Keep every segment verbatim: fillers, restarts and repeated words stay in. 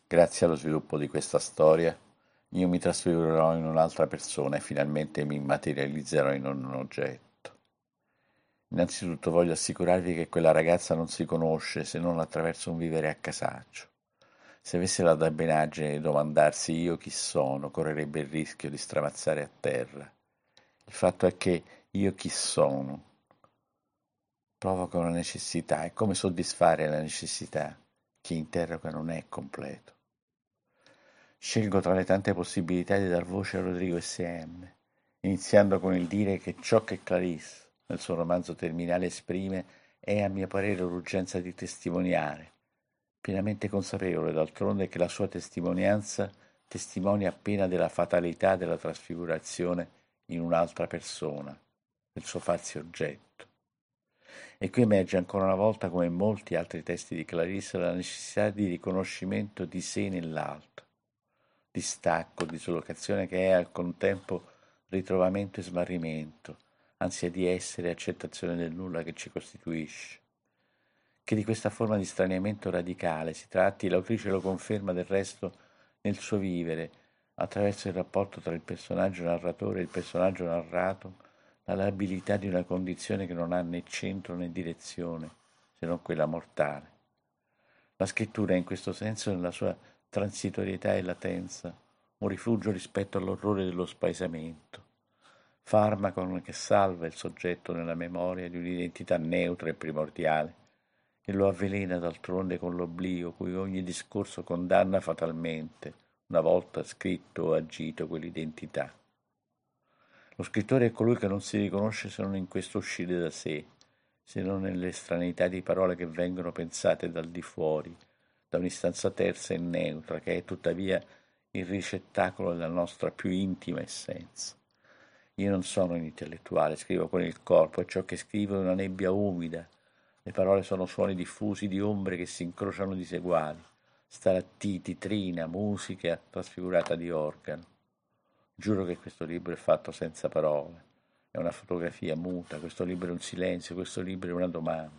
Grazie allo sviluppo di questa storia, io mi trasfigurerò in un'altra persona e finalmente mi materializzerò in un oggetto. Innanzitutto voglio assicurarvi che quella ragazza non si conosce se non attraverso un vivere a casaccio. Se avesse la dabbenaggine di domandarsi io chi sono, correrebbe il rischio di stramazzare a terra. Il fatto è che io chi sono provoca una necessità e come soddisfare la necessità? Chi interroga non è completo. Scelgo tra le tante possibilità di dar voce a Rodrigo S M, iniziando con il dire che ciò che Clarisse, nel suo romanzo terminale, esprime è a mio parere l'urgenza di testimoniare, pienamente consapevole d'altronde che la sua testimonianza testimonia appena della fatalità della trasfigurazione in un'altra persona, del suo farsi oggetto. E qui emerge ancora una volta, come in molti altri testi di Clarisse, la necessità di riconoscimento di sé nell'altro, di stacco, dislocazione che è al contempo ritrovamento e smarrimento, ansia di essere e accettazione del nulla che ci costituisce. Che di questa forma di straniamento radicale si tratti, l'autrice lo conferma del resto nel suo vivere, attraverso il rapporto tra il personaggio narratore e il personaggio narrato, la labilità di una condizione che non ha né centro né direzione, se non quella mortale. La scrittura è in questo senso, nella sua transitorietà e latenza, un rifugio rispetto all'orrore dello spaesamento, farmaco che salva il soggetto nella memoria di un'identità neutra e primordiale, e lo avvelena d'altronde con l'oblio cui ogni discorso condanna fatalmente, una volta scritto o agito quell'identità. Lo scrittore è colui che non si riconosce se non in questo uscire da sé, se non nell'estraneità di parole che vengono pensate dal di fuori, da un'istanza terza e neutra, che è tuttavia il ricettacolo della nostra più intima essenza. Io non sono un intellettuale, scrivo con il corpo e ciò che scrivo è una nebbia umida. Le parole sono suoni diffusi di ombre che si incrociano diseguali, stalattiti, trina, musica trasfigurata di organo. Giuro che questo libro è fatto senza parole, è una fotografia muta, questo libro è un silenzio, questo libro è una domanda.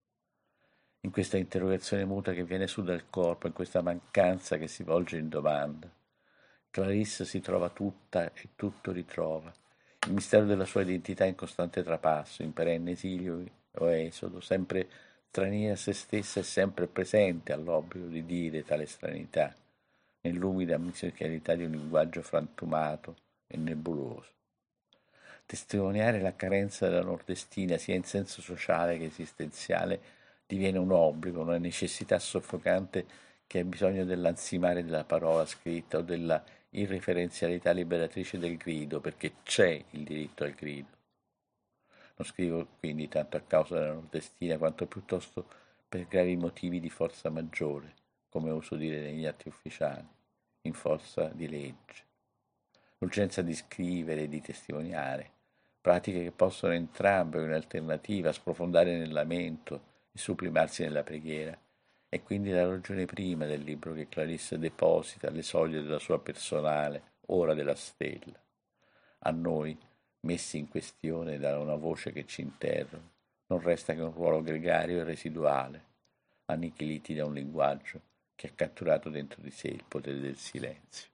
In questa interrogazione muta che viene su dal corpo, in questa mancanza che si volge in domanda, Clarisse si trova tutta e tutto ritrova. Il mistero della sua identità in costante trapasso, in perenne esilio o esodo, sempre straniera a se stessa e sempre presente all'obbligo di dire tale stranità, nell'umida musicalità di un linguaggio frantumato e nebuloso. Testimoniare la carenza della nordestina, sia in senso sociale che esistenziale, diviene un obbligo, una necessità soffocante che ha bisogno dell'ansimare della parola scritta o della irreferenzialità liberatrice del grido, perché c'è il diritto al grido. Non scrivo quindi tanto a causa della nordestina, quanto piuttosto per gravi motivi di forza maggiore, come uso dire negli atti ufficiali, in forza di legge. L'urgenza di scrivere e di testimoniare, pratiche che possono entrambe, in alternativa, sprofondare nel lamento e sublimarsi nella preghiera, è quindi la ragione prima del libro che Clarisse deposita alle soglie della sua personale Ora della Stella. A noi, messi in questione da una voce che ci interroga, non resta che un ruolo gregario e residuale, annichiliti da un linguaggio che ha catturato dentro di sé il potere del silenzio.